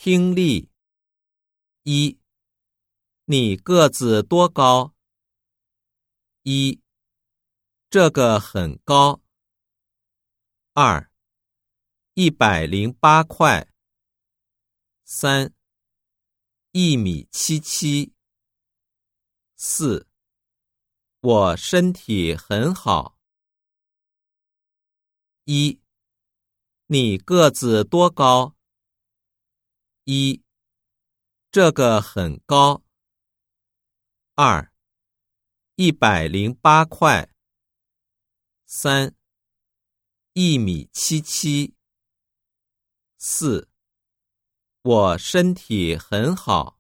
听力。一，你个子多高？一，这个很高。二，108块。31.77米。4我身体很好。一，你个子多高？一，这个很高。二108块。31.77米。4我身体很好。